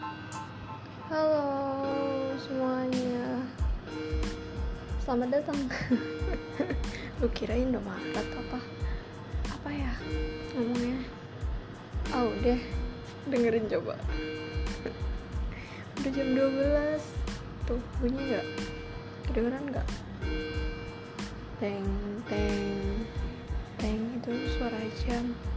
Halo semuanya, selamat datang. Lu kirain udah Maret apa ya ngomongnya? Udah dengerin coba. Udah jam 12. Tuh bunyi gak? Kedengeran gak? Teng teng teng, itu suara jam.